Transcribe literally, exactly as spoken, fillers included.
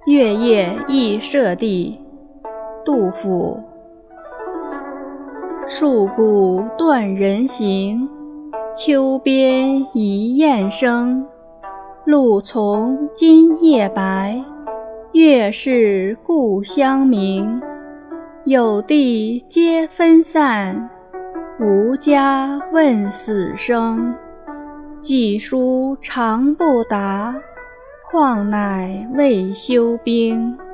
月夜忆舍弟，杜甫。戍鼓断人行，秋边一雁声。露从今夜白，月是故乡明。有弟皆分散，无家问死生。寄书长不达，况乃未休兵。